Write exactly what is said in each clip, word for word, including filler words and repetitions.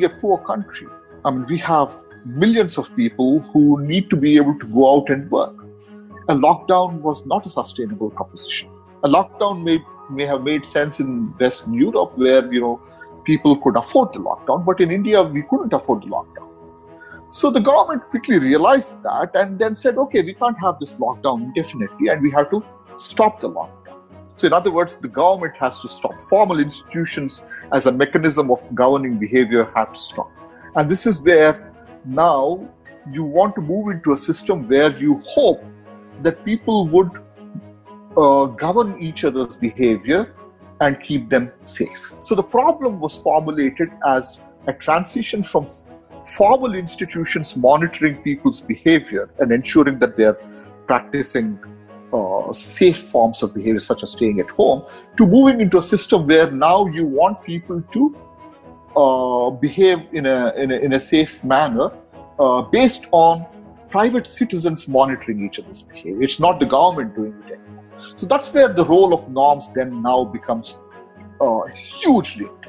being a poor country, I mean, we have millions of people who need to be able to go out and work. A lockdown was not a sustainable proposition. A lockdown may, may have made sense in Western Europe where, you know, people could afford the lockdown, but in India, we couldn't afford the lockdown. So the government quickly realized that and then said, okay, we can't have this lockdown indefinitely and we have to stop the lockdown. So in other words, the government has to stop. Formal institutions as a mechanism of governing behavior have to stop. And this is where now you want to move into a system where you hope that people would uh, govern each other's behavior and keep them safe. So the problem was formulated as a transition from formal institutions monitoring people's behavior and ensuring that they're practicing uh, safe forms of behavior, such as staying at home, to moving into a system where now you want people to uh, behave in a, in a in a safe manner uh, based on private citizens monitoring each other's behavior. It's not the government doing it anymore. So that's where the role of norms then now becomes uh, hugely important.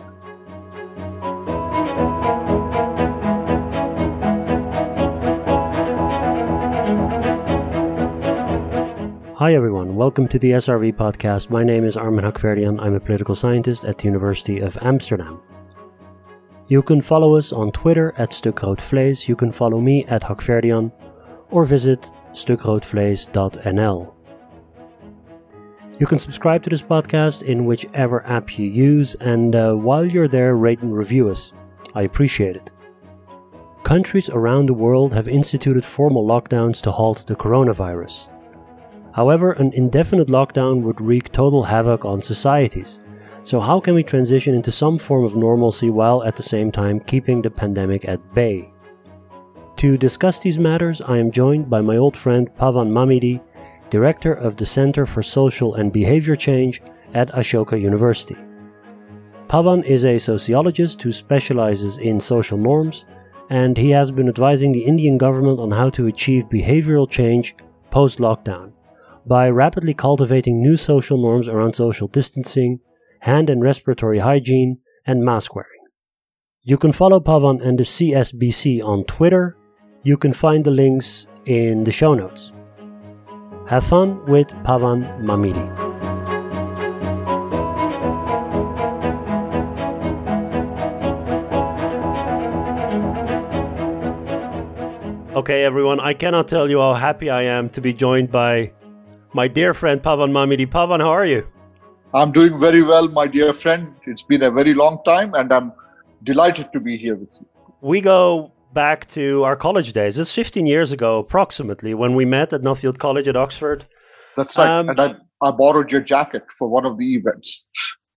Hi everyone, welcome to the S R V podcast. My name is Armin Hakverdian. I'm a political scientist at the University of Amsterdam. You can follow us on Twitter at Stukroodvlees. You can follow me at Hakverdian or visit stukroodvlees dot n l. You can subscribe to this podcast in whichever app you use, and uh, while you're there, rate and review us. I appreciate it. Countries around the world have instituted formal lockdowns to halt the coronavirus. However, an indefinite lockdown would wreak total havoc on societies. So how can we transition into some form of normalcy while at the same time keeping the pandemic at bay? To discuss these matters, I am joined by my old friend Pavan Mamidi, Director of the Center for Social and Behavior Change at Ashoka University. Pavan is a sociologist who specializes in social norms, and he has been advising the Indian government on how to achieve behavioral change post-lockdown by rapidly cultivating new social norms around social distancing, hand and respiratory hygiene, and mask wearing. You can follow Pavan and the C S B C on Twitter. You can find the links in the show notes. Have fun with Pavan Mamidi. Okay, everyone, I cannot tell you how happy I am to be joined by my dear friend Pavan Mamidi. Pavan, how are you? I'm doing very well, my dear friend. It's been a very long time, and I'm delighted to be here with you. We go back to our college days. It's fifteen years ago, approximately, when we met at Nuffield College at Oxford. That's right. Um, and I, I borrowed your jacket for one of the events.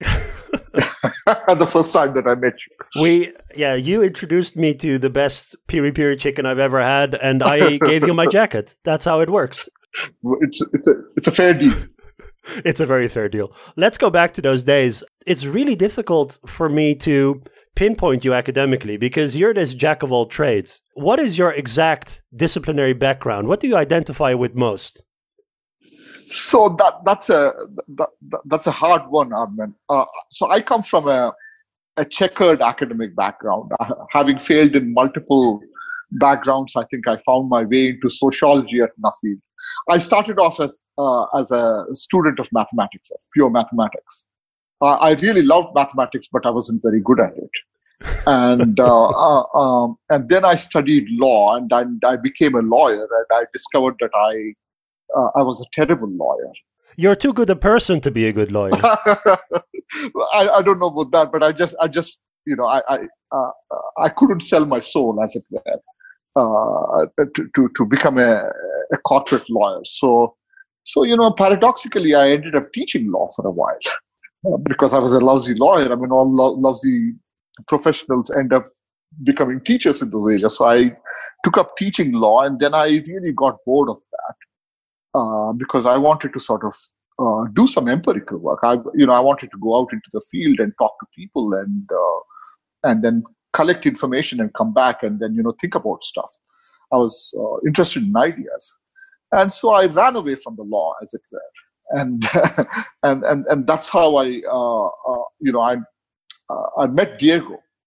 The first time that I met you. We, yeah, you introduced me to the best piri-piri chicken I've ever had, and I gave you my jacket. That's how it works. It's it's a it's a fair deal. It's a very fair deal. Let's go back to those days. It's really difficult for me to pinpoint you academically because you're this jack of all trades. What is your exact disciplinary background? What do you identify with most? So that that's a that, that's a hard one, Armin. Uh, so I come from a a checkered academic background. Uh, having failed in multiple backgrounds, I think I found my way into sociology at Nuffield. I started off as uh, as a student of mathematics, of pure mathematics. Uh, I really loved mathematics, but I wasn't very good at it. And uh, uh, um, and then I studied law, and I, I became a lawyer. And I discovered that I uh, I was a terrible lawyer. You're too good a person to be a good lawyer. I, I don't know about that, but I just I just you know I I uh, I couldn't sell my soul, as it were, uh, to, to to become a, a corporate lawyer. So so you know paradoxically, I ended up teaching law for a while uh, because I was a lousy lawyer. I mean, all lo- lousy professionals end up becoming teachers in those areas. So I took up teaching law, and then I really got bored of that uh, because I wanted to sort of uh, do some empirical work. I, you know, I wanted to go out into the field and talk to people, and uh, and then collect information and come back, and then you know think about stuff. I was uh, interested in ideas, and so I ran away from the law, as it were, and and and and that's how I, uh, uh, you know, I. Uh, I met Diego,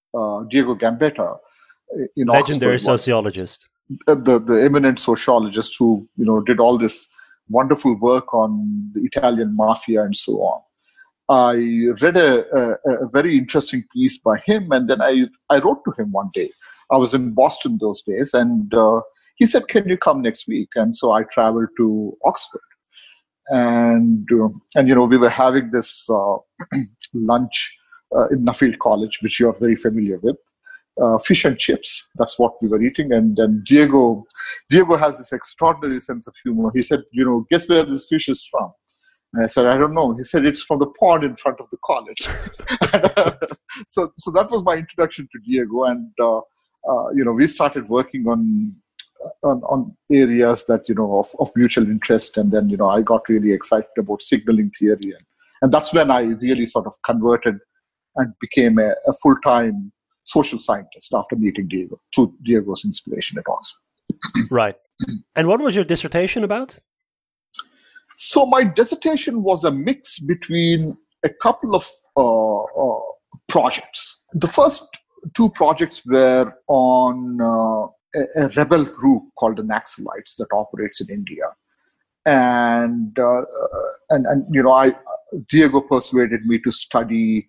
uh, Diego Gambetta in legendary Oxford, sociologist, the the eminent sociologist who you know did all this wonderful work on the Italian mafia and so on. I read a, a, a very interesting piece by him, and then I I wrote to him one day. I was in Boston those days, and uh, he said, "Can you come next week?" And so I traveled to Oxford, and uh, and you know we were having this uh, lunch uh, in Nuffield College, which you are very familiar with. Uh, fish and chips. That's what we were eating. And then Diego, Diego has this extraordinary sense of humor. He said, you know, guess where this fish is from? And I said, I don't know. He said, it's from the pond in front of the college. so, so that was my introduction to Diego. And, uh, uh, you know, we started working on, on, on areas that, you know, of, of mutual interest. And then, you know, I got really excited about signaling theory. And, and that's when I really sort of converted and became a, a full-time social scientist after meeting Diego, through Diego's inspiration at Oxford. Right. And what was your dissertation about? So my dissertation was a mix between a couple of uh, uh, projects. The first two projects were on uh, a, a rebel group called the Naxalites that operates in India. And, uh, and, and you know, I Diego persuaded me to study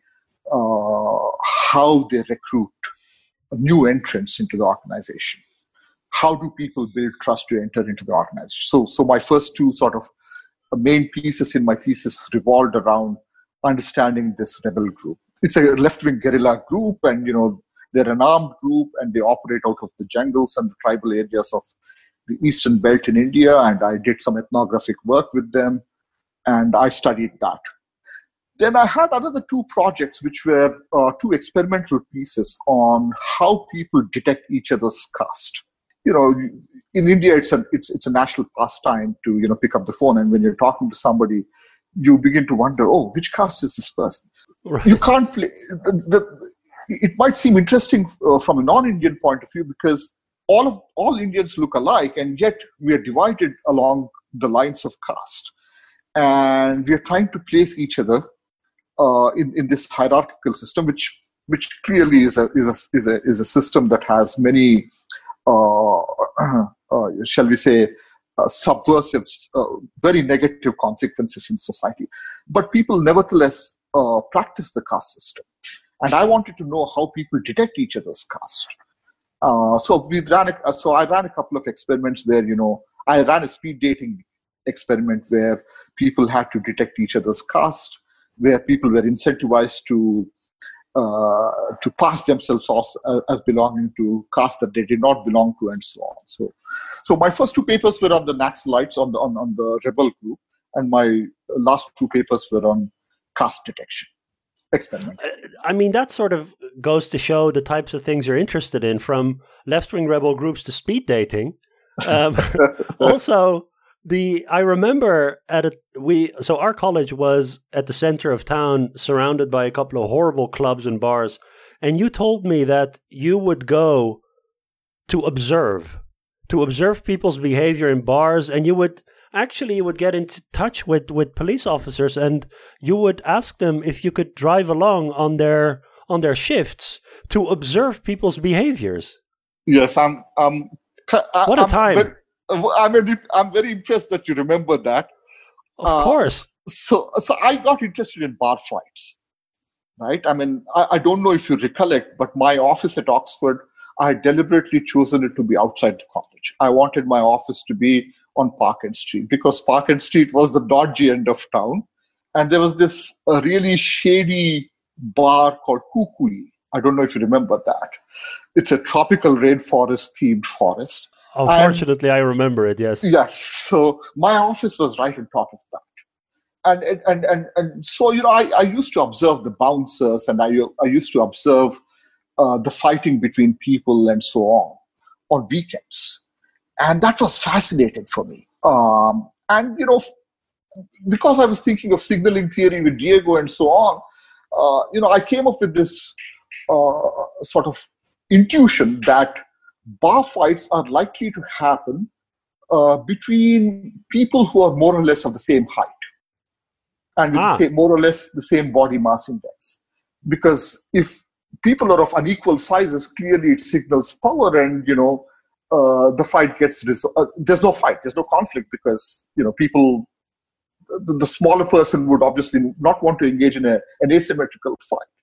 Uh, how they recruit new entrants into the organization. How do people build trust to enter into the organization? So, so my first two sort of main pieces in my thesis revolved around understanding this rebel group. It's a left-wing guerrilla group, and you know they're an armed group, and they operate out of the jungles and the tribal areas of the eastern belt in India. And I did some ethnographic work with them, and I studied that. Then I had another two projects, which were uh, two experimental pieces on how people detect each other's caste. You know, in India, it's a it's it's a national pastime to you know pick up the phone, and when you're talking to somebody, you begin to wonder, oh, which caste is this person? Right. You can't play. The, the, it might seem interesting uh, from a non-Indian point of view because all of all Indians look alike, and yet we are divided along the lines of caste, and we are trying to place each other Uh, in, in this hierarchical system, which which clearly is a is a is a, is a system that has many, uh, uh, shall we say, uh, subversive, uh, very negative consequences in society. But people nevertheless uh, practice the caste system, and I wanted to know how people detect each other's caste. Uh, so we ran. A, so I ran a couple of experiments where you know I ran a speed dating experiment where people had to detect each other's caste, where people were incentivized to uh, to pass themselves off uh, as belonging to caste that they did not belong to, and so on. So, so my first two papers were on the Naxalites, on the on, on the rebel group, and my last two papers were on caste detection experiment. I mean, that sort of goes to show the types of things you're interested in, from left-wing rebel groups to speed dating. Um, also. The I remember at a we so our college was at the center of town, surrounded by a couple of horrible clubs and bars, and you told me that you would go to observe, to observe people's behavior in bars, and you would actually you would get into touch with, with police officers, and you would ask them if you could drive along on their on their shifts to observe people's behaviors. Yes, I'm. Um, I, what a I'm time! Very, I'm, a, I'm very impressed that you remember that. Of uh, course. So, so I got interested in bar fights, right? I mean, I, I don't know if you recollect, but my office at Oxford, I had deliberately chosen it to be outside the college. I wanted my office to be on Park End Street because Park End Street was the dodgy end of town. And there was this uh, really shady bar called Kukui. I don't know if you remember that. It's a tropical rainforest-themed forest. Oh, fortunately, and, I remember it, yes. Yes. So my office was right on top of that. And and and and so, you know, I, I used to observe the bouncers, and I, I used to observe uh, the fighting between people and so on on weekends. And that was fascinating for me. Um, and, you know, because I was thinking of signaling theory with Diego and so on, uh, you know, I came up with this uh, sort of intuition that bar fights are likely to happen uh, between people who are more or less of the same height and with ah. the same, more or less the same body mass index. Because if people are of unequal sizes, clearly it signals power, and you know uh, the fight gets resolved. Uh, there's no fight, there's no conflict, because you know people, the, the smaller person would obviously not want to engage in a, an asymmetrical fight.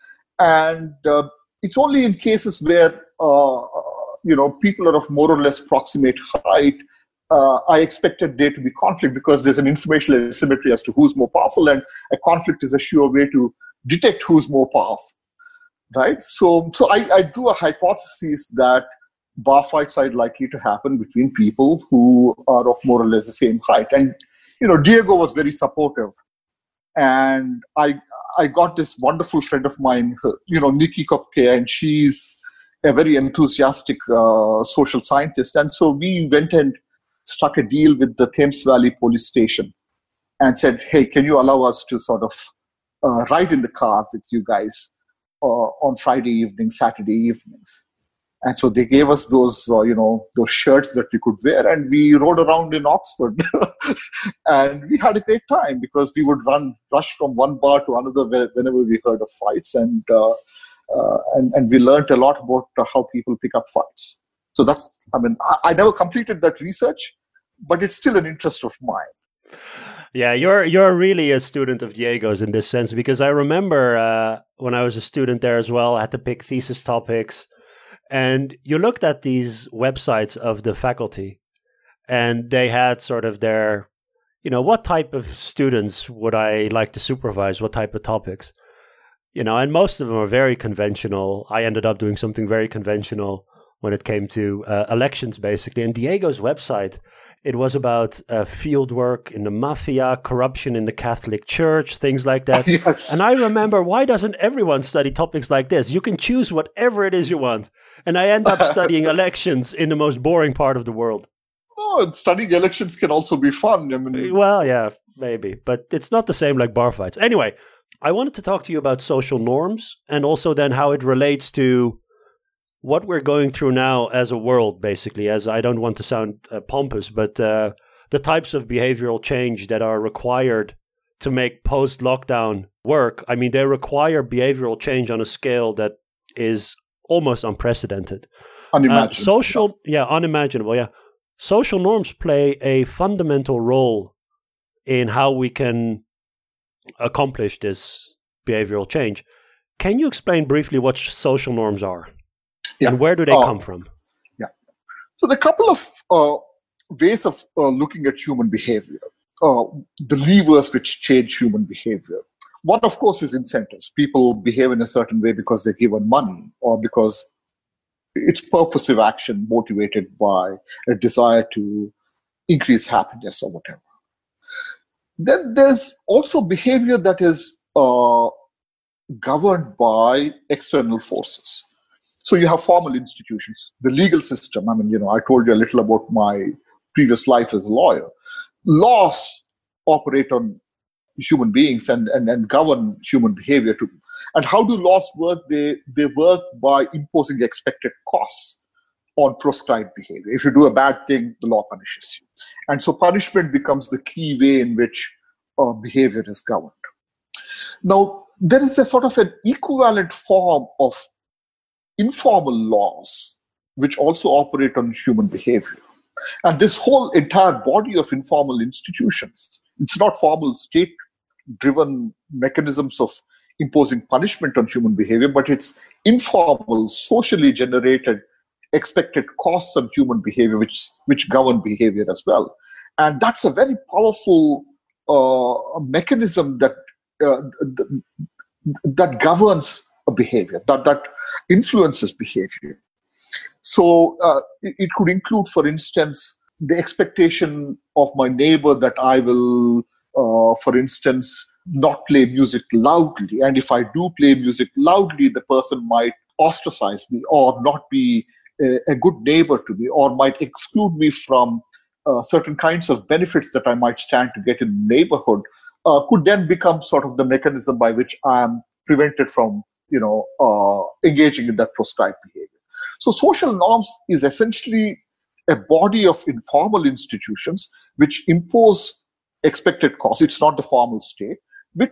And uh, it's only in cases where uh, you know people are of more or less proximate height. Uh, I expected there to be conflict, because there's an informational asymmetry as to who's more powerful, and a conflict is a sure way to detect who's more powerful, right? So, so I, I drew a hypothesis that bar fights are likely to happen between people who are of more or less the same height. And you know, Diego was very supportive, and I I got this wonderful friend of mine, you know, Nikki Kopke, and she's a very enthusiastic uh, social scientist, and so we went and struck a deal with the Thames Valley Police Station and said, hey, can you allow us to sort of uh, ride in the car with you guys uh, on Friday evenings, Saturday evenings? And so they gave us those, uh, you know, those shirts that we could wear, and we rode around in Oxford. And we had a great time, because we would run, rush from one bar to another whenever we heard of fights, and uh, uh, and, and we learned a lot about uh, how people pick up fights. So that's, I mean, I, I never completed that research, but it's still an interest of mine. Yeah, you're you're really a student of Diego's in this sense, because I remember uh, when I was a student there as well, I had to pick thesis topics, and you looked at these websites of the faculty, and they had sort of their, you know, what type of students would I like to supervise, what type of topics, you know, and most of them are very conventional. I ended up doing something very conventional when it came to uh, elections, basically. And Diego's website, it was about uh, field work in the mafia, corruption in the Catholic Church, things like that. Yes. And I remember, why doesn't everyone study topics like this? You can choose whatever it is you want. And I end up studying elections in the most boring part of the world. Oh, studying elections can also be fun. I mean, well, yeah, maybe. But it's not the same like bar fights. Anyway, I wanted to talk to you about social norms, and also then how it relates to what we're going through now as a world, basically, as I don't want to sound uh, pompous, but uh, the types of behavioral change that are required to make post-lockdown work. I mean, they require behavioral change on a scale that is almost unprecedented. Unimaginable. Uh, social, yeah, unimaginable, yeah. Social norms play a fundamental role in how we can accomplish this behavioral change. Can you explain briefly what social norms are? Yeah. And where do they uh, come from? Yeah. So there are a couple of uh, ways of uh, looking at human behavior, uh, the levers which change human behavior. One, of course, is incentives. People behave in a certain way because they're given money, or because it's purposive action motivated by a desire to increase happiness or whatever. Then there's also behavior that is uh, governed by external forces. So you have formal institutions, the legal system. I mean, you know, I told you a little about my previous life as a lawyer. Laws operate on human beings and, and, and govern human behavior too. And how do laws work? They, they work by imposing expected costs on prescribed behavior. If you do a bad thing, the law punishes you. And so punishment becomes the key way in which uh, behavior is governed. Now, there is a sort of an equivalent form of informal laws which also operate on human behavior. And this whole entire body of informal institutions, it's not formal state-driven mechanisms of imposing punishment on human behavior, but it's informal, socially generated expected costs on human behavior which, which govern behavior as well. And that's a very powerful uh, mechanism that uh, that governs a behavior, that, that influences behavior. So uh, it, it could include, for instance, the expectation of my neighbor that I will, uh, for instance, not play music loudly. And if I do play music loudly, the person might ostracize me or not be a, a good neighbor to me, or might exclude me from uh, certain kinds of benefits that I might stand to get in the neighborhood, uh, could then become sort of the mechanism by which I am prevented from, you know, uh, engaging in that prescribed behavior. So social norms is essentially a body of informal institutions which impose expected costs. It's not the formal state, which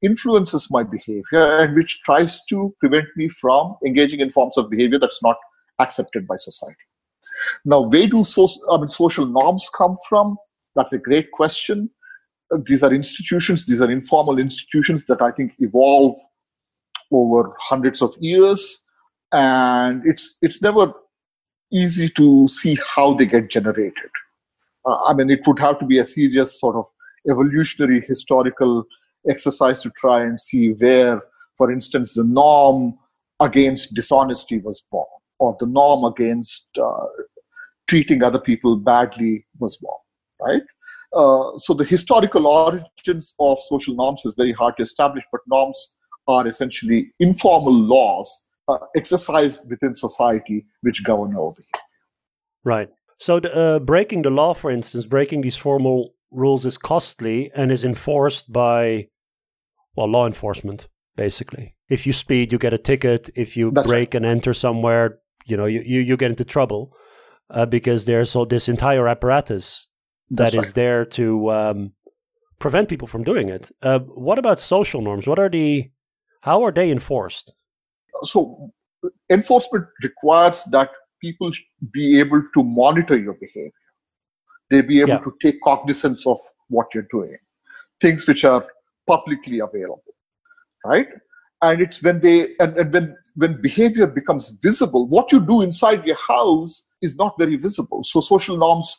influences my behavior and which tries to prevent me from engaging in forms of behavior that's not accepted by society. Now, where do so, I mean, social norms come from? That's a great question. These are institutions, these are informal institutions that I think evolve over hundreds of years, and it's it's never easy to see how they get generated. Uh, I mean, it would have to be a serious sort of evolutionary historical exercise to try and see where, for instance, the norm against dishonesty was born, or the norm against uh, treating other people badly was born, right? Uh, so the historical origins of social norms is very hard to establish, but norms are essentially informal laws uh, exercised within society which govern our behavior. Right. So the, uh, breaking the law, for instance, breaking these formal rules is costly and is enforced by, well, law enforcement, basically. If you speed, you get a ticket. If you That's break right. and enter somewhere, you know, you, you, you get into trouble uh, because there's so this entire apparatus That's that right. is there to um, prevent people from doing it. Uh, what about social norms? What are the, how are they enforced? So enforcement requires that people be able to monitor your behavior. They be able yeah. to take cognizance of what you're doing, things which are publicly available, right? And it's when they and, and when when behavior becomes visible, what you do inside your house is not very visible. So social norms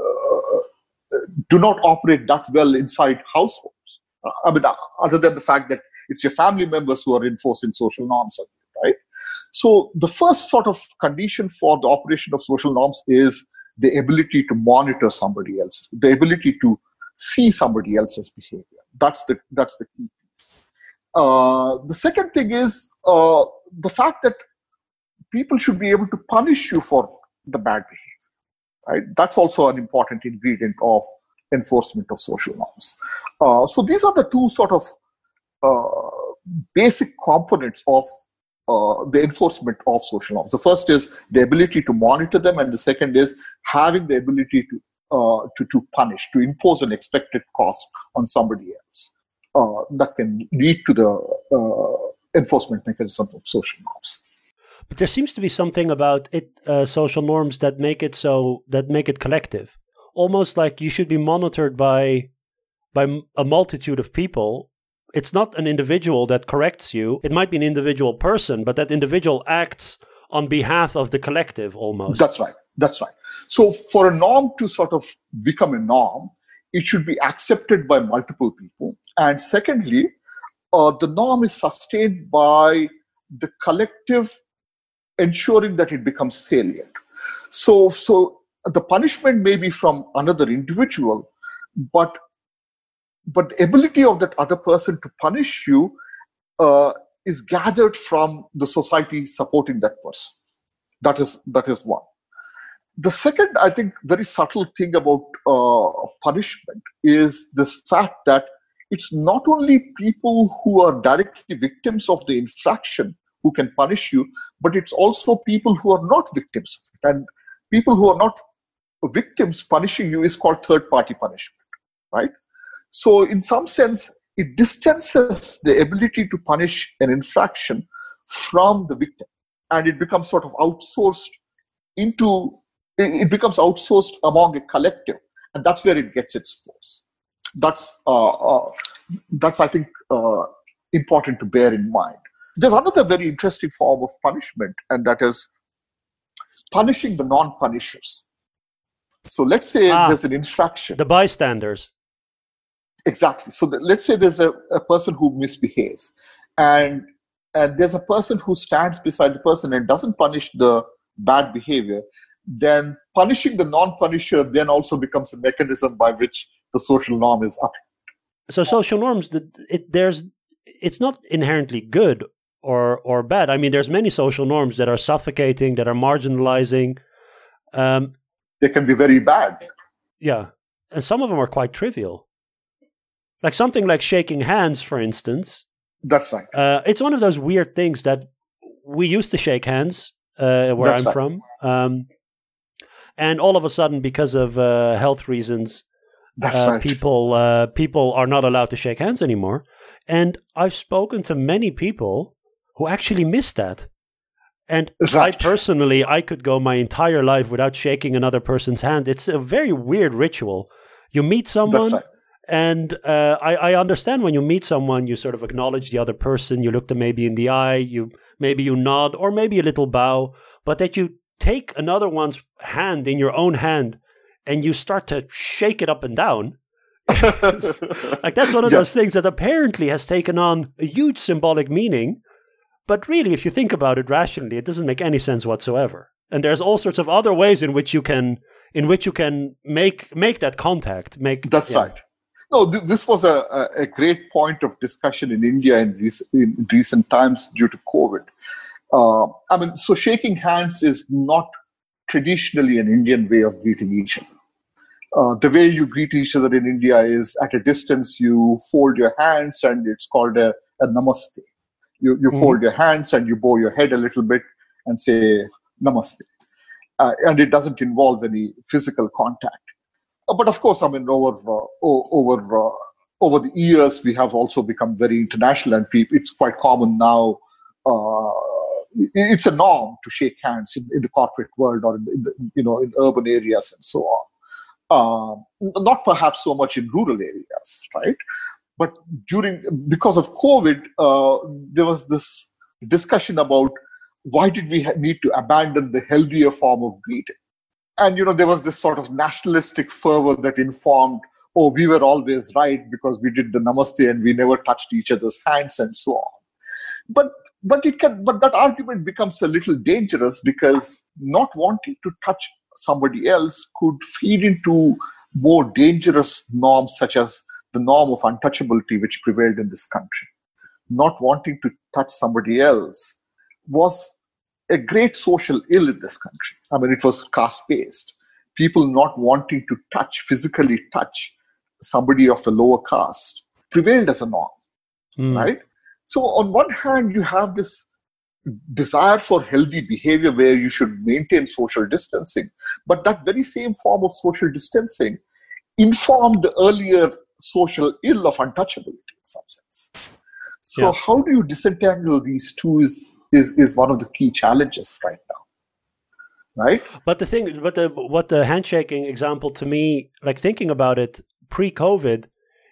uh, do not operate that well inside households. Uh, I mean, other than the fact that it's your family members who are enforcing social norms, right? So the first sort of condition for the operation of social norms is the ability to monitor somebody else, the ability to see somebody else's behavior. That's the that's the key. Uh, the second thing is uh, the fact that people should be able to punish you for the bad behavior, right? That's also an important ingredient of enforcement of social norms. Uh, so these are the two sort of uh, basic components of uh, the enforcement of social norms. The first is the ability to monitor them, and the second is having the ability to uh, to, to punish, to impose an expected cost on somebody else. Uh, that can lead to the uh, enforcement mechanism of social norms. But there seems to be something about it, uh, social norms that make it so that make it collective, almost like you should be monitored by by a multitude of people. It's not an individual that corrects you. It might be an individual person, but that individual acts on behalf of the collective almost. That's right. That's right. So for a norm to sort of become a norm, it should be accepted by multiple people. And secondly, uh, the norm is sustained by the collective ensuring that it becomes salient. So, so the punishment may be from another individual, but but the ability of that other person to punish you uh, is gathered from the society supporting that person. That is that is one. The second, I think, very subtle thing about uh, punishment is this fact that it's not only people who are directly victims of the infraction who can punish you, but it's also people who are not victims of it. And people who are not victims punishing you is called third-party punishment, right? So in some sense, it distances the ability to punish an infraction from the victim, and it becomes sort of outsourced into it becomes outsourced among a collective, and that's where it gets its force. That's, uh, uh, that's I think, uh, important to bear in mind. There's another very interesting form of punishment, and that is punishing the non-punishers. So let's say ah, there's an infraction. The bystanders. Exactly. So the, let's say there's a, a person who misbehaves, and, and there's a person who stands beside the person and doesn't punish the bad behavior. Then punishing the non-punisher then also becomes a mechanism by which the social norm is upheld. So social norms, it, there's, it's not inherently good or or bad. I mean, there's many social norms that are suffocating, that are marginalizing. Um, they can be very bad. Yeah, and some of them are quite trivial. Like something like shaking hands, for instance. That's right. Uh, it's one of those weird things that we used to shake hands uh, where That's I'm right. from. Um, And all of a sudden, because of uh, health reasons, uh, right. people uh, people are not allowed to shake hands anymore. And I've spoken to many people who actually miss that. And right. I personally, I could go my entire life without shaking another person's hand. It's a very weird ritual. You meet someone, That's right. and uh, I, I understand when you meet someone, you sort of acknowledge the other person. You look them maybe in the eye, you maybe you nod, or maybe a little bow. But that you take another one's hand in your own hand and you start to shake it up and down. Like that's one of yes. those things that apparently has taken on a huge symbolic meaning. But really, if you think about it rationally, it doesn't make any sense whatsoever. And there's all sorts of other ways in which you can, in which you can make make that contact. Make that's yeah. right. No, th- this was a, a great point of discussion in India in, rec- in recent times due to COVID. Uh, I mean, so shaking hands is not traditionally an Indian way of greeting each other. Uh, the way you greet each other in India is at a distance. You fold your hands, and it's called a, a namaste. You, you mm-hmm. fold your hands and you bow your head a little bit and say namaste. Uh, and it doesn't involve any physical contact. Uh, but of course, I mean, over uh, over uh, over the years, we have also become very international, and people, it's quite common now. Uh, it's a norm to shake hands in, in the corporate world or in, in the, you know, in urban areas and so on. Uh, not perhaps so much in rural areas, right? But during, because of COVID, uh, there was this discussion about why did we ha- need to abandon the healthier form of greeting? And, you know, there was this sort of nationalistic fervor that informed, oh, we were always right because we did the namaste and we never touched each other's hands and so on. But but it can, but that argument becomes a little dangerous because not wanting to touch somebody else could feed into more dangerous norms such as the norm of untouchability which prevailed in this country. Not wanting to touch somebody else was a great social ill in this country. I mean, it was caste-based. People not wanting to touch, physically touch somebody of a lower caste prevailed as a norm, mm. right? So on one hand, you have this desire for healthy behavior where you should maintain social distancing, but that very same form of social distancing informed the earlier social ill of untouchability in some sense. So yeah. how do you disentangle these two is, is, is one of the key challenges right now, right? But the thing, but the, what the handshaking example to me, like thinking about it pre-COVID,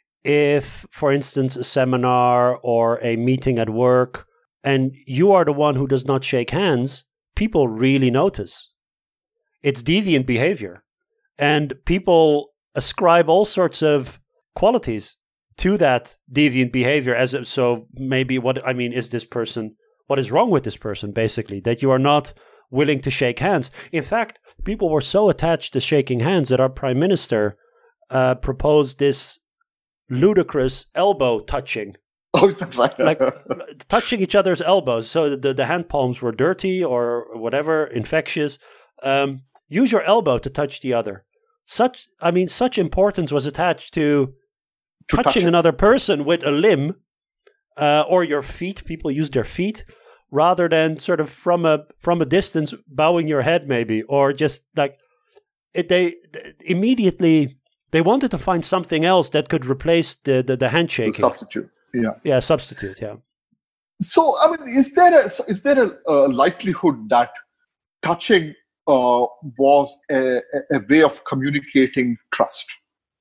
if, for instance, a seminar or a meeting at work, and you are the one who does not shake hands, people really notice. It's deviant behavior. And people ascribe all sorts of qualities to that deviant behavior. As a, so maybe what, I mean, is this person, what is wrong with this person, basically, that you are not willing to shake hands? In fact, people were so attached to shaking hands that our prime minister uh, proposed this ludicrous elbow touching. Oh, is that right? Like touching each other's elbows. So the, the hand palms were dirty or whatever, infectious. Um, use your elbow to touch the other. Such, I mean, such importance was attached to, to touching touch another person with a limb uh, or your feet. People use their feet rather than sort of from a from a distance bowing your head maybe, or just like it. They immediately they wanted to find something else that could replace the the, the handshaking. The substitute. Yeah. Yeah, substitute, yeah. So, I mean, is there a, is there a, a likelihood that touching uh, was a, a way of communicating trust?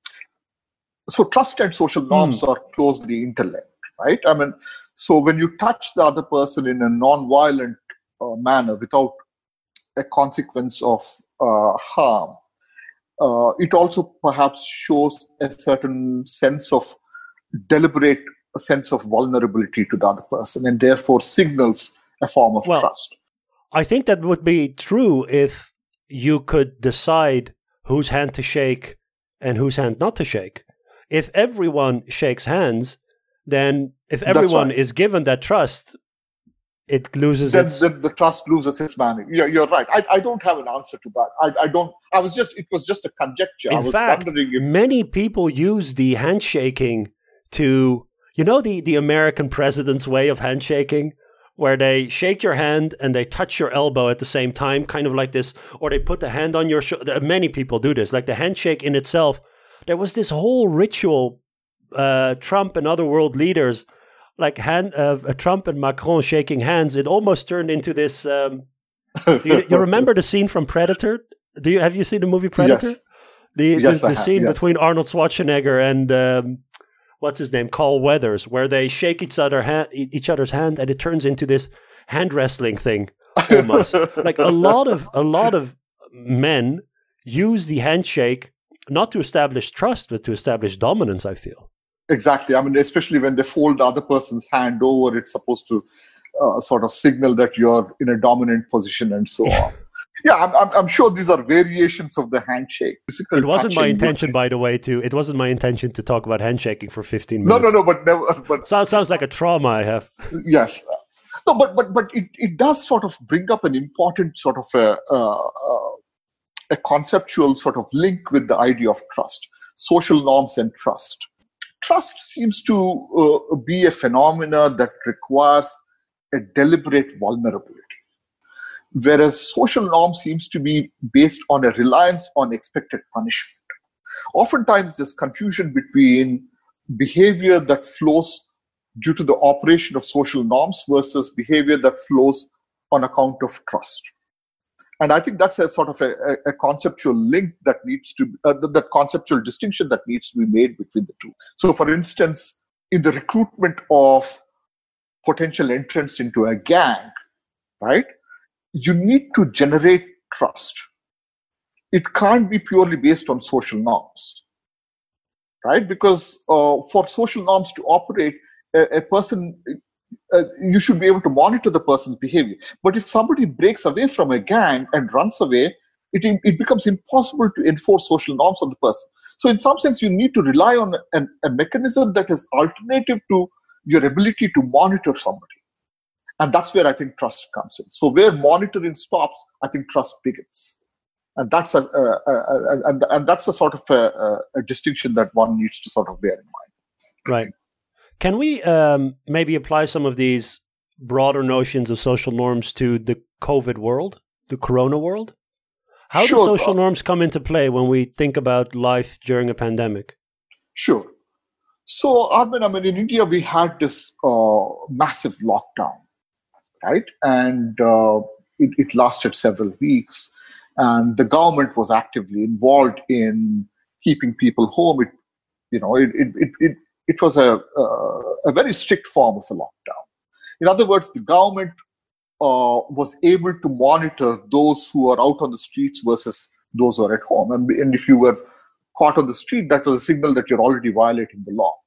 So trust and social norms mm. are closely interlinked, right? I mean, so when you touch the other person in a non-violent uh, manner without a consequence of uh, harm, uh, it also perhaps shows a certain sense of deliberate a sense of vulnerability to the other person and therefore signals a form of well, trust. I think that would be true if you could decide whose hand to shake and whose hand not to shake. If everyone shakes hands, then if everyone right. is given that trust, it loses then, its... Then the trust loses its meaning. Yeah, you're right. I, I don't have an answer to that. I, I don't... I was just... It was just a conjecture. In I was fact, wondering if... many people use the handshaking to... You know the, the American president's way of handshaking, where they shake your hand and they touch your elbow at the same time, kind of like this, or they put the hand on your shoulder. Many people do this, like the handshake in itself. There was this whole ritual, uh, Trump and other world leaders like hand, uh, Trump and Macron shaking hands, it almost turned into this. Um, do you, you remember the scene from Predator? Do you have you seen the movie Predator? Yes. The yes, the, the scene yes. between Arnold Schwarzenegger and um, what's his name, Carl Weathers, where they shake each other ha- each other's hand, and it turns into this hand wrestling thing. Almost like a lot of a lot of men use the handshake not to establish trust, but to establish dominance. I feel exactly. I mean, especially when they fold the other person's hand over, it's supposed to uh, sort of signal that you're in a dominant position and so on. Yeah, I'm, I'm, I'm sure these are variations of the handshake. Physical it wasn't my intention, with... by the way, to it wasn't my intention to talk about handshaking for fifteen No, minutes. no, no, but never. But so, sounds like a trauma I have. Yes, no, but but but it, it does sort of bring up an important sort of a, uh, uh, a conceptual sort of link with the idea of trust, social norms and trust. Trust seems to uh, be a phenomena that requires a deliberate vulnerability, whereas social norm seems to be based on a reliance on expected punishment. Oftentimes, there's confusion between behavior that flows due to the operation of social norms versus behavior that flows on account of trust. And I think that's a sort of a, a conceptual link that needs to, uh, that conceptual distinction that needs to be made between the two. So, for instance, in the recruitment of potential entrants into a gang, right, you need to generate trust. It can't be purely based on social norms, right? Because uh, for social norms to operate, a, a person, uh, you should be able to monitor the person's behavior. But if somebody breaks away from a gang and runs away, it, it becomes impossible to enforce social norms on the person. So in some sense, you need to rely on an, a mechanism that is alternative to your ability to monitor somebody. And that's where I think trust comes in. So where monitoring stops, I think trust begins. And that's a, a, a, a and, and that's a sort of a, a distinction that one needs to sort of bear in mind. Right. Can we um, maybe apply some of these broader notions of social norms to the COVID world, the Corona world? How Sure. do social norms come into play when we think about life during a pandemic? Sure. So, Armin, I mean, in India, we had this uh, massive lockdown, right? And uh, it, it lasted several weeks. And the government was actively involved in keeping people home. It, you know, it it it it, it was a uh, a very strict form of a lockdown. In other words, the government uh, was able to monitor those who are out on the streets versus those who are at home. And, and if you were caught on the street, that was a signal that you're already violating the law.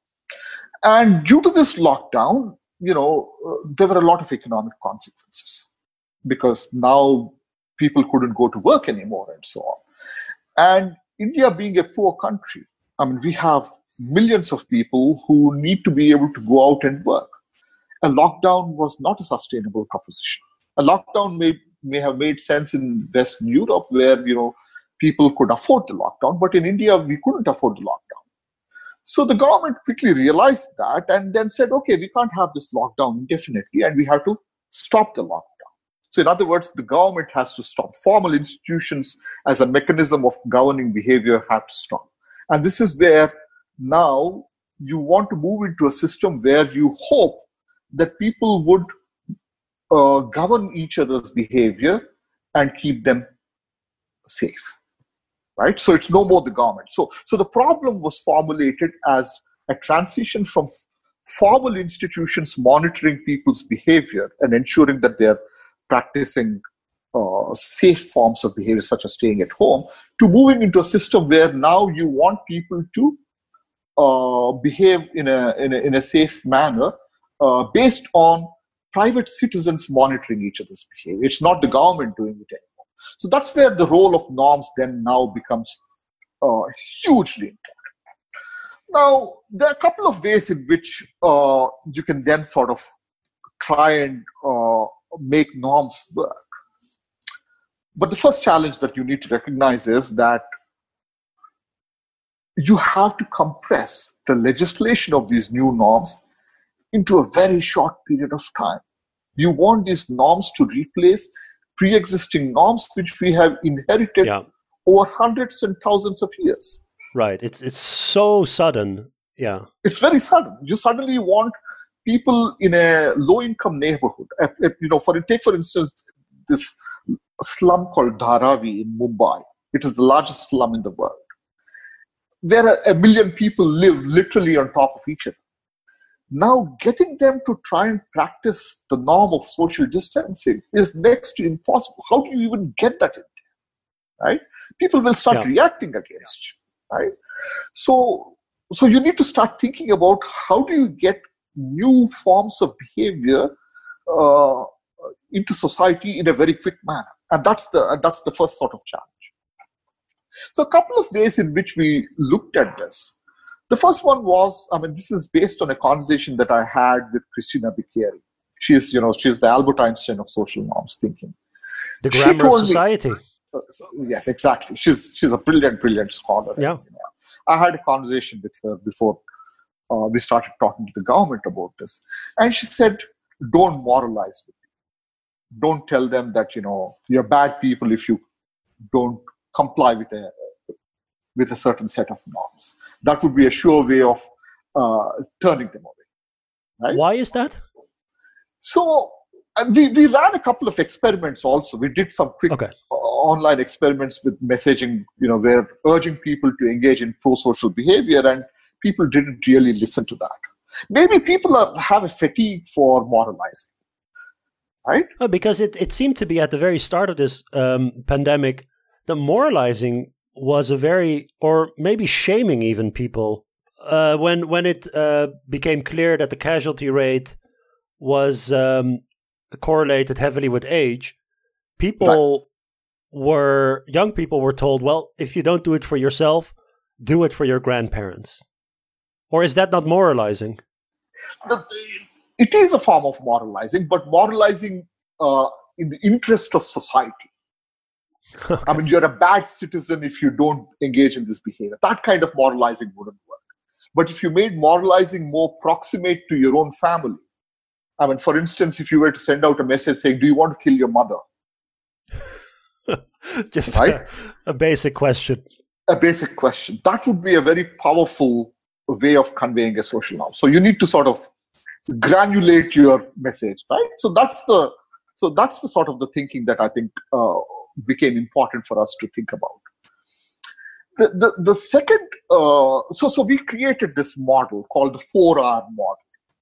And due to this lockdown, you know, uh, there were a lot of economic consequences because now people couldn't go to work anymore and so on. And India being a poor country, I mean, we have millions of people who need to be able to go out and work. A lockdown was not a sustainable proposition. A lockdown may, may have made sense in Western Europe where, you know, people could afford the lockdown, but in India, we couldn't afford the lockdown. So the government quickly realized that and then said, okay, we can't have this lockdown indefinitely and we have to stop the lockdown. So in other words, the government has to stop. Formal institutions as a mechanism of governing behavior have to stop. And this is where now you want to move into a system where you hope that people would uh, govern each other's behavior and keep them safe. Right? So it's no more the government. So, so the problem was formulated as a transition from formal institutions monitoring people's behavior and ensuring that they're practicing uh, safe forms of behavior, such as staying at home, to moving into a system where now you want people to uh, behave in a, in a in a safe manner uh, based on private citizens monitoring each other's behavior. It's not the government doing it anymore. So that's where the role of norms then now becomes uh, hugely important. Now, there are a couple of ways in which uh, you can then sort of try and uh, make norms work. But the first challenge that you need to recognize is that you have to compress the legislation of these new norms into a very short period of time. You want these norms to replace pre-existing norms which we have inherited yeah. over hundreds and thousands of years. Right. It's it's so sudden. Yeah. It's very sudden. You suddenly want people in a low-income neighborhood, you know, for take for instance this slum called Dharavi in Mumbai. It is the largest slum in the world, where a, a million people live literally on top of each other. Now, getting them to try and practice the norm of social distancing is next to impossible. How do you even get that in there, right? People will start yeah. reacting against you, right? So, so you need to start thinking about how do you get new forms of behavior uh, into society in a very quick manner, and that's the that's the first sort of challenge. So, a couple of ways in which we looked at this. The first one was, I mean, this is based on a conversation that I had with Christina Bicchieri. She is, you know, she is the Albert Einstein of social norms thinking. The grammar of society. Me, uh, so, yes, exactly. She's she's a brilliant, brilliant scholar. Yeah. And, you know, I had a conversation with her before uh, we started talking to the government about this, and she said, "Don't moralize with them. Don't tell them that you know you're bad people if you don't comply with a." with a certain set of norms. That would be a sure way of uh, turning them away. Right? Why is that? So uh, we, we ran a couple of experiments also. We did some quick okay. uh, online experiments with messaging, you know, where urging people to engage in pro-social behavior, and people didn't really listen to that. Maybe people are, have a fatigue for moralizing, right? Oh, because it, it seemed to be at the very start of this um, pandemic, the moralizing was a very, or maybe shaming even people, uh, when when it uh, became clear that the casualty rate was um, correlated heavily with age, people right. were, young people were told, well, if you don't do it for yourself, do it for your grandparents. Or is that not moralizing? It is a form of moralizing, but moralizing uh, in the interest of society. Okay. I mean, you're a bad citizen if you don't engage in this behavior. That kind of moralizing wouldn't work. But if you made moralizing more proximate to your own family, I mean, for instance, if you were to send out a message saying, do you want to kill your mother? Just right? a, a basic question. A basic question. That would be a very powerful way of conveying a social norm. So you need to sort of granulate your message, right? So that's the so that's the sort of the thinking that I think uh, became important for us to think about. The the, the second, uh, so so we created this model called the four R model.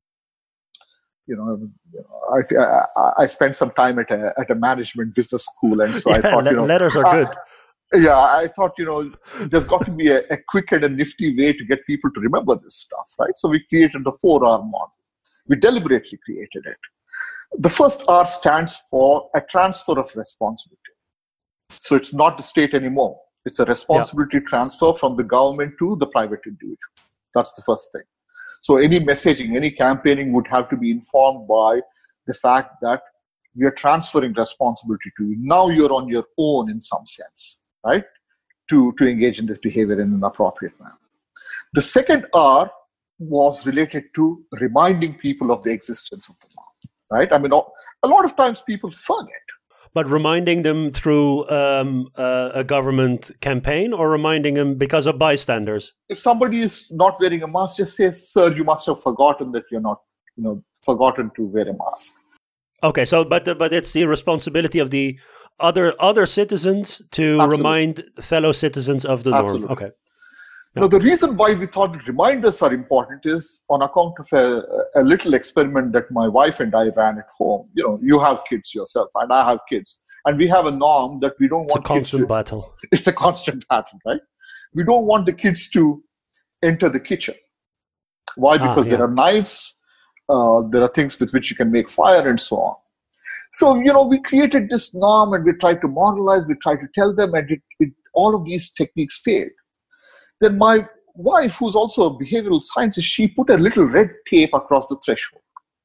You know, you know I, I I spent some time at a at a management business school, and so yeah, I thought, you know, letters are I, good. Yeah, I thought, you know, there's got to be a, a quick and a nifty way to get people to remember this stuff, right? So we created the four R model. We deliberately created it. The first R stands for a transfer of responsibility. So it's not the state anymore. It's a responsibility yeah. transfer from the government to the private individual. That's the first thing. So any messaging, any campaigning would have to be informed by the fact that we are transferring responsibility to you. Now you're on your own in some sense, right? To, to engage in this behavior in an appropriate manner. The second R was related to reminding people of the existence of the norm, right? I mean, a lot of times people forget. But reminding them through um, uh, a government campaign, or reminding them because of bystanders? If somebody is not wearing a mask, just say, sir, you must have forgotten that you're not, you know, forgotten to wear a mask. Okay, so but but it's the responsibility of the other other citizens to Absolutely. Remind fellow citizens of the Absolutely. norm. Okay. Now, the reason why we thought reminders are important is on account of a, a little experiment that my wife and I ran at home. You know, you have kids yourself, and I have kids. And we have a norm that we don't it's want a constant kids to... battle. It's a constant battle, right? We don't want the kids to enter the kitchen. Why? Because ah, yeah. there are knives, uh, there are things with which you can make fire, and so on. So, you know, we created this norm, and we tried to moralize, we tried to tell them, and it, it, all of these techniques failed. Then my wife, who's also a behavioral scientist, she put a little red tape across the threshold,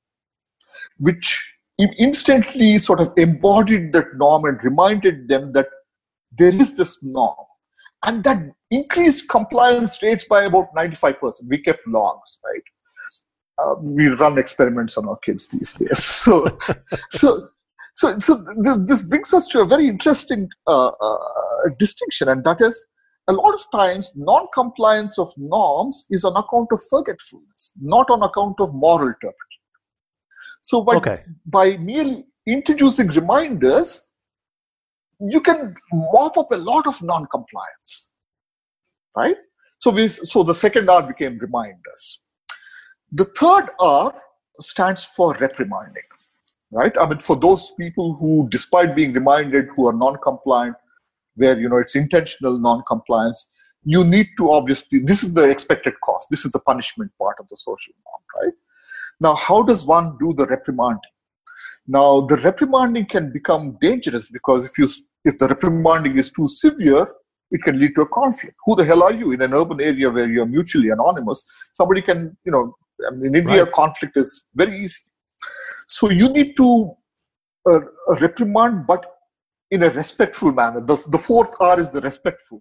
which instantly sort of embodied that norm and reminded them that there is this norm. And that increased compliance rates by about ninety-five percent. We kept logs, right? Uh, we run experiments on our kids these days. So, so, so, so th- this brings us to a very interesting uh, uh, distinction, and that is, a lot of times, non-compliance of norms is on account of forgetfulness, not on account of moral turpitude. So by, okay. by merely introducing reminders, you can mop up a lot of non-compliance, right? So we, so the second R became reminders. The third R stands for reprimanding, right? I mean, for those people who, despite being reminded, who are non-compliant, where, you know, it's intentional non-compliance, you need to obviously, this is the expected cost. This is the punishment part of the social norm, right? Now, how does one do the reprimanding? Now, the reprimanding can become dangerous because if you if the reprimanding is too severe, it can lead to a conflict. Who the hell are you in an urban area where you're mutually anonymous? Somebody can, you know, I mean, in India, right. Conflict is very easy. So you need to uh, reprimand, but in a respectful manner. The, the fourth R is the respectful.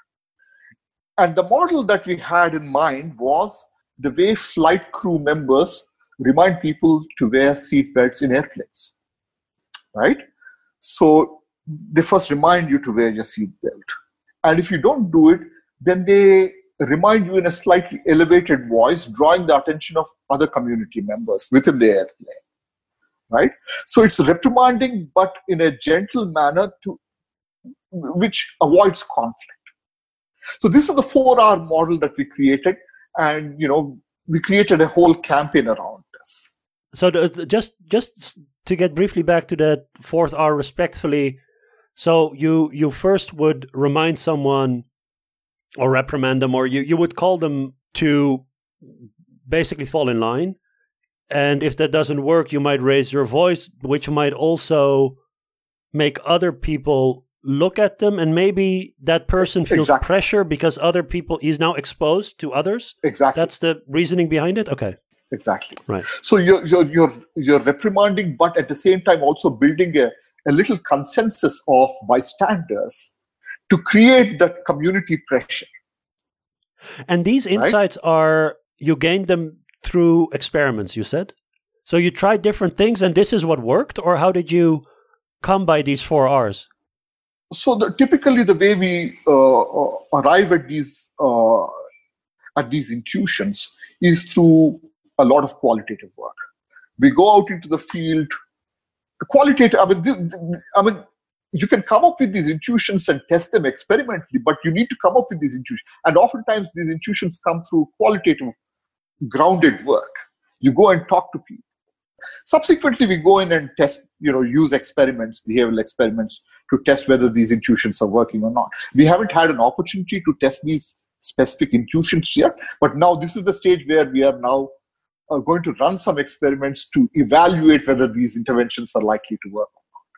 And the model that we had in mind was the way flight crew members remind people to wear seatbelts in airplanes, right? So they first remind you to wear your seatbelt. And if you don't do it, then they remind you in a slightly elevated voice, drawing the attention of other community members within the airplane, right? So it's reprimanding, but in a gentle manner to which avoids conflict. So this is the four R model that we created, and you know we created a whole campaign around this. So the, just just to get briefly back to that fourth R, respectfully. So you you first would remind someone or reprimand them, or you, you would call them to basically fall in line. And if that doesn't work, you might raise your voice, which might also make other people look at them. And maybe that person feels exactly. pressure because other people, he's now exposed to others. Exactly. That's the reasoning behind it? Okay. Exactly. Right. So you're, you're, you're, you're reprimanding, but at the same time also building a, a little consensus of bystanders to create that community pressure. And these insights right? are, you gained them through experiments, you said? So you tried different things and this is what worked? Or how did you come by these four R's? So the, typically the way we uh, uh, arrive at these, uh, at these intuitions is through a lot of qualitative work. We go out into the field, qualitative, I mean, this, I mean, you can come up with these intuitions and test them experimentally, but you need to come up with these intuitions. And oftentimes these intuitions come through qualitative, grounded work. You go and talk to people. Subsequently, we go in and test, you know, use experiments, behavioral experiments to test whether these intuitions are working or not. We haven't had an opportunity to test these specific intuitions yet, but now this is the stage where we are now uh, going to run some experiments to evaluate whether these interventions are likely to work.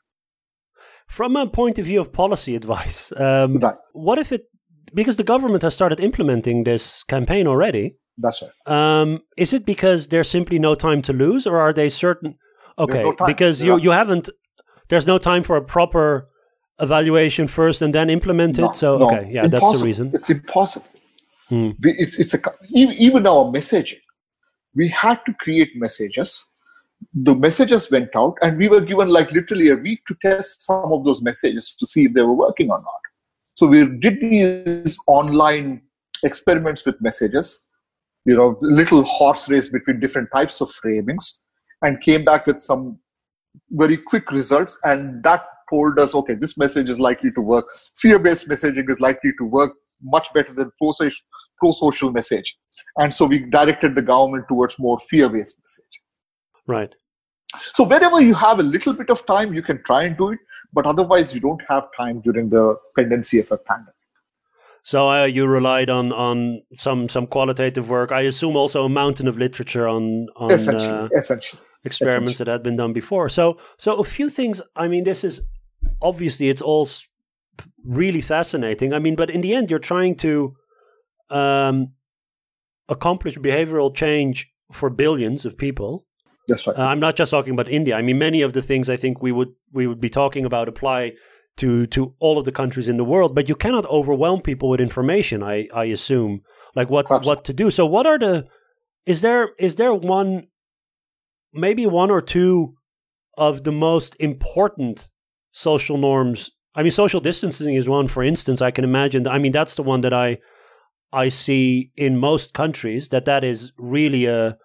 From a point of view of policy advice, um, right. what if it, because the government has started implementing this campaign already. That's right. Um, is it because there's simply no time to lose, or are they certain? Okay, no because you, you haven't, there's no time for a proper evaluation first and then implement it. No, so, no. okay, yeah, impossible. That's the reason. It's impossible. Hmm. We, it's, it's a, even our messaging, we had to create messages. The messages went out and we were given like literally a week to test some of those messages to see if they were working or not. So we did these online experiments with messages, you know, little horse race between different types of framings, and came back with some very quick results. And that told us, okay, this message is likely to work. Fear-based messaging is likely to work much better than pro-social, pro-social message. And so we directed the government towards more fear-based messaging. Right. So wherever you have a little bit of time, you can try and do it, but otherwise you don't have time during the pendency of a pandemic. So uh, you relied on on some some qualitative work. I assume also a mountain of literature on on essentially, uh, essentially. experiments essentially. that had been done before. So so a few things. I mean, this is obviously it's all really fascinating. I mean, but in the end, you're trying to um, accomplish behavioral change for billions of people. That's right. Uh, I'm not just talking about India. I mean, many of the things I think we would we would be talking about apply to to all of the countries in the world. But you cannot overwhelm people with information. I I assume like what Absolutely. what to do. So what are the is there is there one maybe one or two of the most important social norms? I mean, social distancing is one, for instance. I can imagine. I mean, that's the one that I I see in most countries that that is really a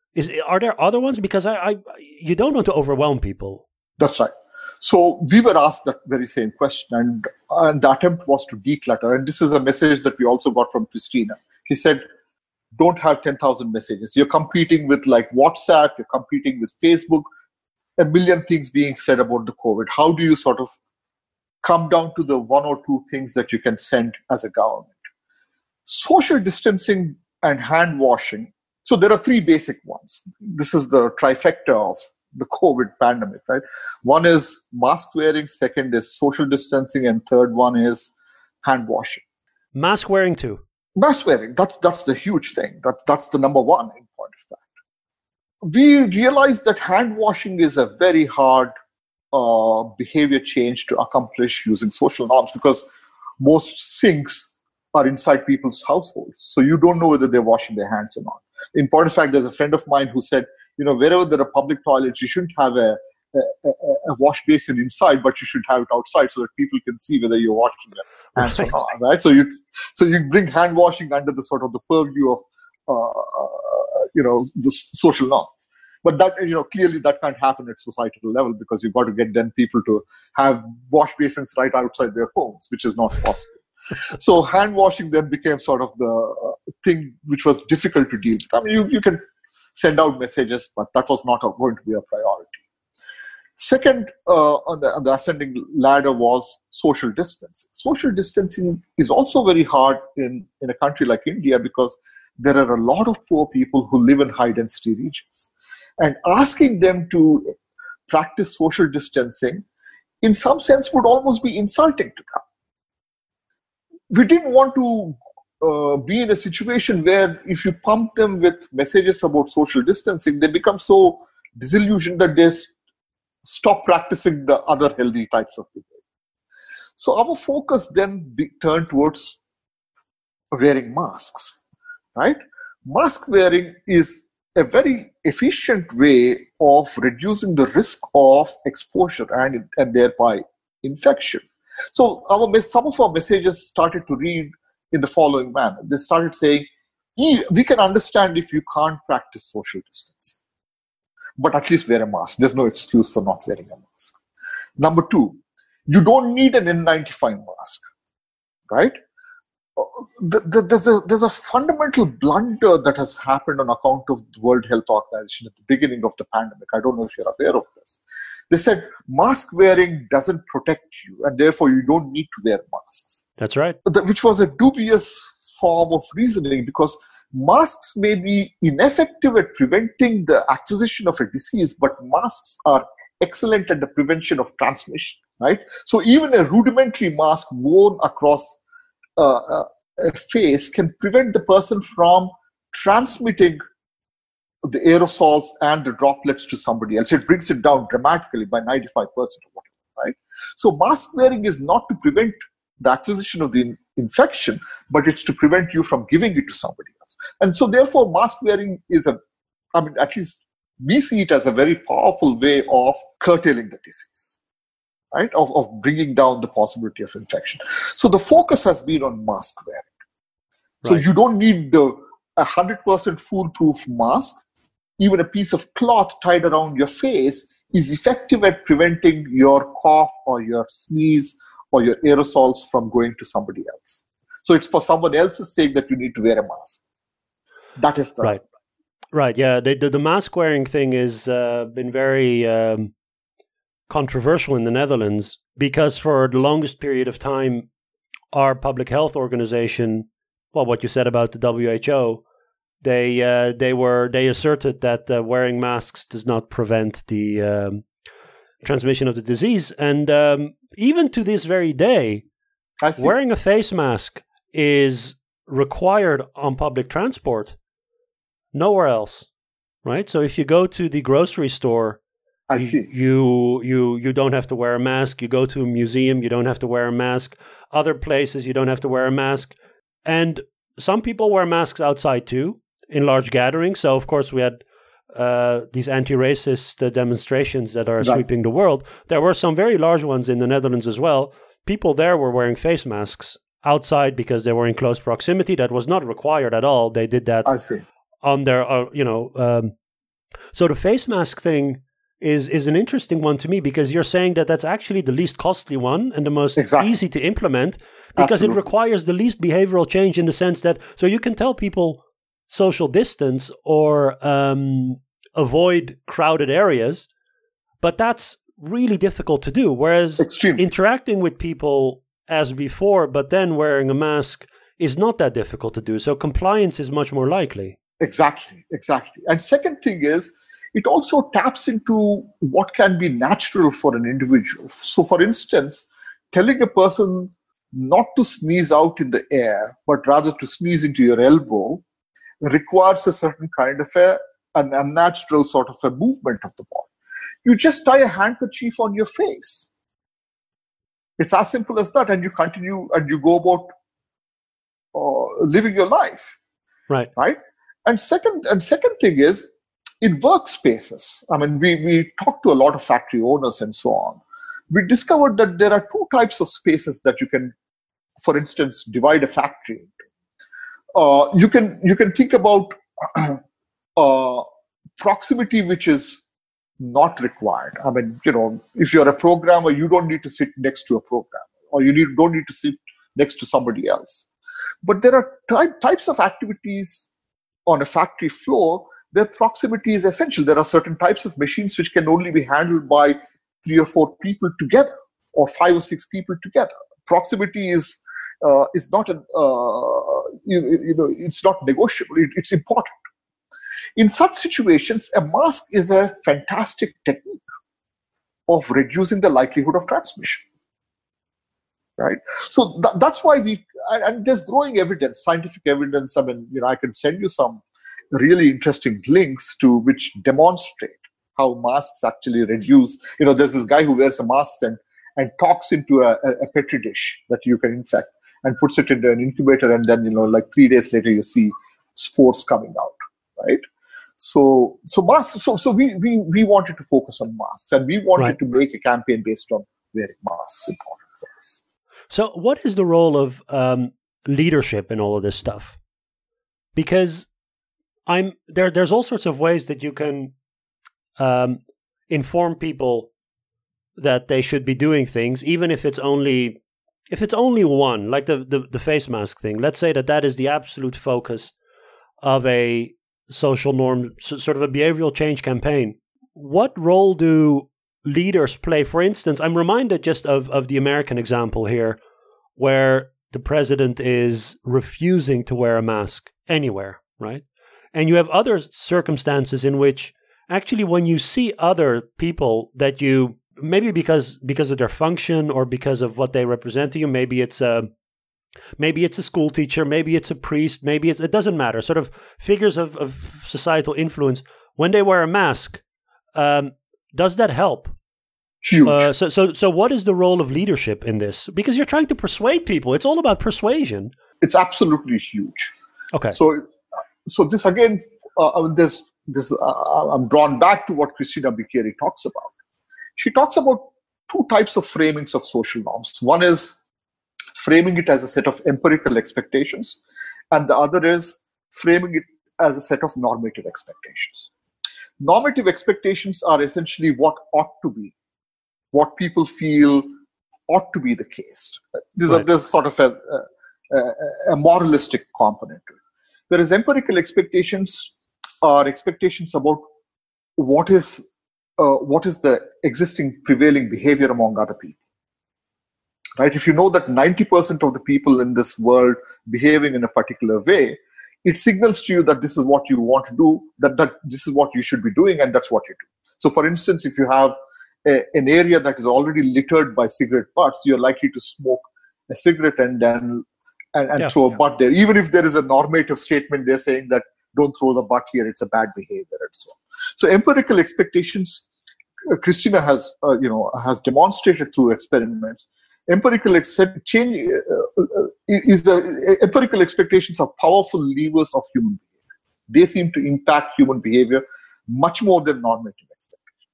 Is are there other ones? Because I, I you don't want to overwhelm people. That's right. So we were asked that very same question, and, and the attempt was to declutter. And this is a message that we also got from Christina. He said, don't have ten thousand messages. You're competing with like WhatsApp, you're competing with Facebook, a million things being said about the COVID. How do you sort of come down to the one or two things that you can send as a government? Social distancing and hand washing. So there are three basic ones. This is the trifecta of the COVID pandemic, right? One is mask wearing, second is social distancing, and third one is hand washing. Mask wearing too. Mask wearing, that's, that's the huge thing. That, that's the number one in point of fact. We realized that hand washing is a very hard uh, behavior change to accomplish using social norms, because most sinks are inside people's households. So you don't know whether they're washing their hands or not. In point of fact, there's a friend of mine who said, you know, wherever there are public toilets, you shouldn't have a, a, a wash basin inside, but you should have it outside so that people can see whether you're washing their hands right. or not, right? So you, so you bring hand washing under the sort of the purview of, uh, uh, you know, the social norms. But that, you know, clearly that can't happen at societal level, because you've got to get then people to have wash basins right outside their homes, which is not possible. So hand washing then became sort of the uh, thing which was difficult to deal with. I mean, you, you can send out messages, but that was not going to be a priority. Second, uh, on, the, on the ascending ladder was social distancing. Social distancing is also very hard in, in a country like India, because there are a lot of poor people who live in high-density regions. And asking them to practice social distancing, in some sense, would almost be insulting to them. We didn't want to uh, be in a situation where if you pump them with messages about social distancing, they become so disillusioned that they stop practicing the other healthy types of behavior. So our focus then be turned towards wearing masks, right? Mask wearing is a very efficient way of reducing the risk of exposure and, and thereby infection. So our some of our messages started to read in the following manner. They started saying, we can understand if you can't practice social distancing, but at least wear a mask. There's no excuse for not wearing a mask. Number two, you don't need an N ninety-five mask, right? There's a, there's a fundamental blunder that has happened on account of the World Health Organization at the beginning of the pandemic. I don't know if you're aware of this. They said mask wearing doesn't protect you, and therefore you don't need to wear masks. That's right. Which was a dubious form of reasoning, because masks may be ineffective at preventing the acquisition of a disease, but masks are excellent at the prevention of transmission, right? So even a rudimentary mask worn across uh, a face can prevent the person from transmitting the aerosols and the droplets to somebody else. It brings it down dramatically by ninety-five percent or whatever, right? So mask wearing is not to prevent the acquisition of the in- infection, but it's to prevent you from giving it to somebody else. And so therefore mask wearing is a, I mean, at least we see it as a very powerful way of curtailing the disease, right? Of, of bringing down the possibility of infection. So the focus has been on mask wearing. So right. You don't need the one hundred percent foolproof mask. Even a piece of cloth tied around your face is effective at preventing your cough or your sneeze or your aerosols from going to somebody else. So it's for someone else's sake that you need to wear a mask. That is the... Right. Right, yeah. The, the, the mask wearing thing has uh, been very um, controversial in the Netherlands, because for the longest period of time, our public health organization, well, what you said about the W H O, They uh, they were they asserted that uh, wearing masks does not prevent the um, transmission of the disease, and um, even to this very day, wearing a face mask is required on public transport. Nowhere else, right? So if you go to the grocery store, I see you you you don't have to wear a mask. You go to a museum, you don't have to wear a mask. Other places, you don't have to wear a mask, and some people wear masks outside too, in large gatherings. So, of course, we had uh, these anti-racist uh, demonstrations that are right. sweeping the world. There were some very large ones in the Netherlands as well. People there were wearing face masks outside because they were in close proximity. That was not required at all. They did that I see. on their, uh, you know, um, So the face mask thing is is an interesting one to me, because you're saying that that's actually the least costly one and the most Exactly. easy to implement, because Absolutely. it requires the least behavioral change, in the sense that, so you can tell people social distance or um, avoid crowded areas, but that's really difficult to do. Whereas Extremely. interacting with people as before, but then wearing a mask, is not that difficult to do. So compliance is much more likely. Exactly, exactly. And second thing is, it also taps into what can be natural for an individual. So, for instance, telling a person not to sneeze out in the air, but rather to sneeze into your elbow, requires a certain kind of a, an unnatural sort of a movement of the body. You just tie a handkerchief on your face. It's as simple as that, and you continue and you go about uh, living your life. Right. Right. And second, and second thing is, in workspaces, I mean, we, we talked to a lot of factory owners and so on. We discovered that there are two types of spaces that you can, for instance, divide a factory into. Uh, you can you can think about uh, proximity, which is not required. I mean, you know, if you're a programmer, you don't need to sit next to a programmer, or you need, don't need to sit next to somebody else. But there are ty- types of activities on a factory floor where proximity is essential. There are certain types of machines which can only be handled by three or four people together, or five or six people together. Proximity is uh, is not an uh, you, you know it's not negotiable. It, it's important. In such situations, a mask is a fantastic technique of reducing the likelihood of transmission. Right. So th- that's why we, and there's growing evidence, scientific evidence. I mean, you know, I can send you some really interesting links to which demonstrate how masks actually reduce. You know, there's this guy who wears a mask and, and talks into a, a petri dish that you can infect and puts it into an incubator. And then, you know, like three days later, you see spores coming out. Right. So, so masks, so, so we, we, we wanted to focus on masks, and we wanted Right. to make a campaign based on wearing masks important for us. So what is the role of um, leadership in all of this stuff? Because I'm there. There's all sorts of ways that you can um, inform people that they should be doing things, even if it's only if it's only one, like the, the the face mask thing. Let's say that that is the absolute focus of a social norm, sort of a behavioral change campaign. What role do leaders play? For instance, I'm reminded just of, of the American example here, where the president is refusing to wear a mask anywhere, right? And you have other circumstances in which actually when you see other people that you, maybe because because of their function or because of what they represent to you, maybe it's a maybe it's a school teacher, maybe it's a priest, maybe it's, it doesn't matter, sort of figures of, of societal influence, when they wear a mask, um, does that help? Huge. Uh, so, so, so, what is the role of leadership in this? Because you're trying to persuade people. It's all about persuasion. It's absolutely huge. Okay. So, so this again, uh, this this uh, I'm drawn back to what Christina Bicchieri talks about. She talks about two types of framings of social norms. One is framing it as a set of empirical expectations, and the other is framing it as a set of normative expectations. Normative expectations are essentially what ought to be, what people feel ought to be the case. There's, right. a, there's sort of a, a, a moralistic component to it. Whereas empirical expectations are expectations about what is uh, what is the existing prevailing behavior among other people. Right? If you know that ninety percent of the people in this world behaving in a particular way, it signals to you that this is what you want to do, that, that this is what you should be doing, and that's what you do. So for instance, if you have a, an area that is already littered by cigarette butts, you're likely to smoke a cigarette and then and, and yeah, throw a yeah. butt there. Even if there is a normative statement, they're saying that don't throw the butt here, it's a bad behavior and so on. So empirical expectations, uh, Christina has uh, you know has demonstrated through experiments. Empirical accept, change uh, uh, is the uh, empirical expectations are powerful levers of human behavior. They seem to impact human behavior much more than normative expectations.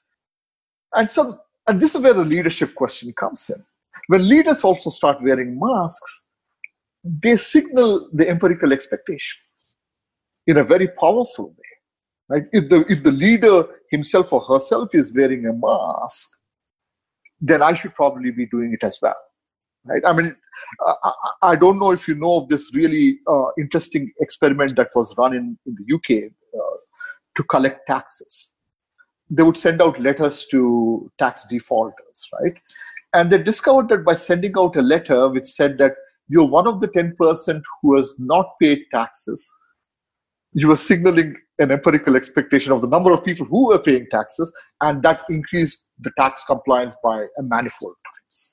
And so, and this is where the leadership question comes in. When leaders also start wearing masks, they signal the empirical expectation in a very powerful way. right? If the if the leader himself or herself is wearing a mask, then I should probably be doing it as well, right? I mean, I, I don't know if you know of this really uh, interesting experiment that was run in, in the U K uh, to collect taxes. They would send out letters to tax defaulters, right? And they discovered that by sending out a letter which said that you're one of the ten percent who has not paid taxes, you were signaling an empirical expectation of the number of people who were paying taxes, and that increased the tax compliance by a manifold times.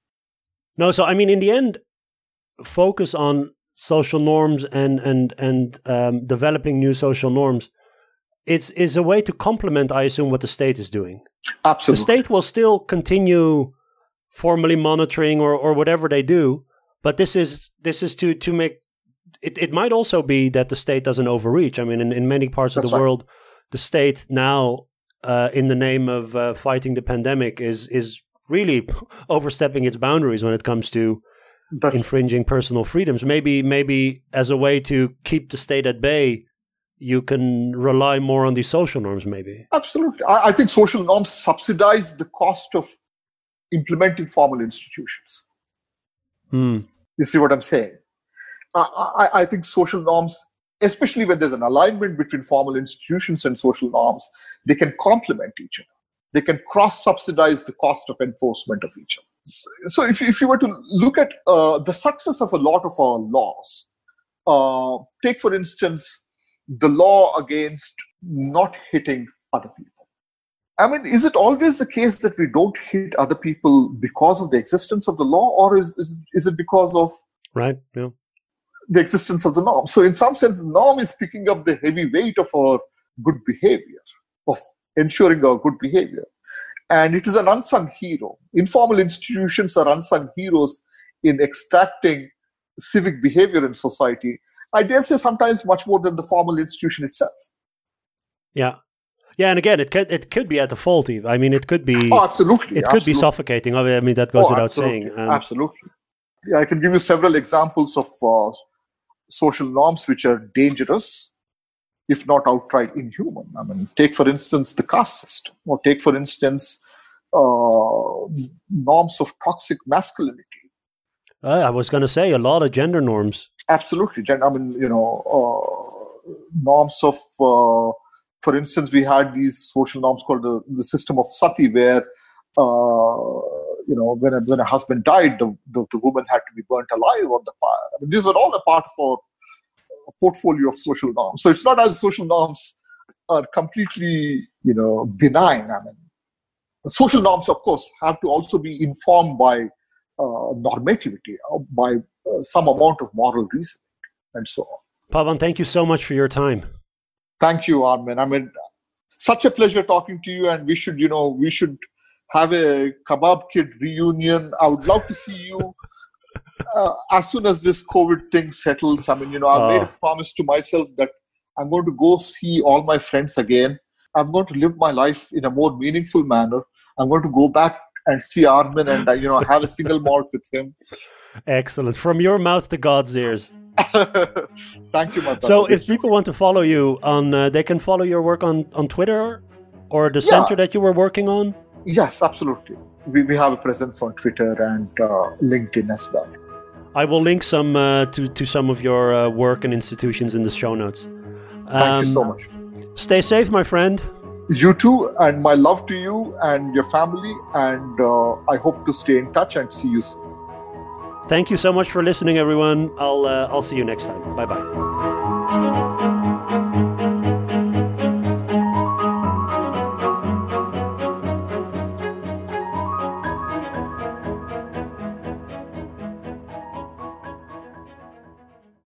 No, so I mean, in the end, focus on social norms and and and um, developing new social norms. It's is a way to complement, I assume, what the state is doing. Absolutely, the state will still continue formally monitoring or, or whatever they do, but this is this is to to make it. It might also be that the state doesn't overreach. I mean, in, in many parts of That's the right. world, the state now, uh, in the name of uh, fighting the pandemic, is is really overstepping its boundaries when it comes to That's infringing personal freedoms. Maybe maybe as a way to keep the state at bay, you can rely more on these social norms, maybe. Absolutely. I, I think social norms subsidize the cost of implementing formal institutions. Hmm. You see what I'm saying? I, I, I think social norms, especially when there's an alignment between formal institutions and social norms, they can complement each other. They can cross-subsidize the cost of enforcement of each other. So if, if you were to look at uh, the success of a lot of our laws, uh, take, for instance, the law against not hitting other people. I mean, is it always the case that we don't hit other people because of the existence of the law, or is, is, is it because of Right, yeah. the existence of the norm? So in some sense, the norm is picking up the heavy weight of our good behavior, of ensuring our good behavior. And it is an unsung hero. Informal institutions are unsung heroes in extracting civic behavior in society. I dare say sometimes much more than the formal institution itself. Yeah. Yeah, and again, it could it could be at the fault. Even. I mean, it could be. Oh, absolutely. It could absolutely. be suffocating. I mean, that goes oh, without absolutely. saying. Um, absolutely. Yeah, I can give you several examples of uh, social norms which are dangerous, if not outright inhuman. I mean, take for instance the caste system, or take for instance uh, norms of toxic masculinity. Uh, I was going to say a lot of gender norms. Absolutely. I mean, you know, uh, norms of, uh, for instance, we had these social norms called the, the system of sati, where, uh, you know, when a, when a husband died, the, the, the woman had to be burnt alive on the fire. I mean, these are all a part of our portfolio of social norms. So it's not as social norms are completely, you know, benign. I mean, social norms, of course, have to also be informed by Uh, normativity, uh, by uh, some amount of moral reasoning, and so on. Pavan, thank you so much for your time. Thank you, Armin. I mean, such a pleasure talking to you, and we should, you know, we should have a Kebab Kid reunion. I would love to see you uh, as soon as this COVID thing settles. I mean, you know, I've Oh. made a promise to myself that I'm going to go see all my friends again. I'm going to live my life in a more meaningful manner. I'm going to go back and see Armin and, uh, you know, have a single malt with him. Excellent. From your mouth to God's ears. Thank you, my brother. So if It's- people want to follow you on, uh, they can follow your work on, on Twitter or the Yeah. center that you were working on? Yes, absolutely. We, we have a presence on Twitter and uh, LinkedIn as well. I will link some uh, to, to some of your uh, work and institutions in the show notes. Thank Um, you so much. Stay safe, my friend. You too, and my love to you and your family, and uh, I hope to stay in touch and see you soon. Thank you so much for listening, everyone. I'll uh, I'll see you next time. Bye bye.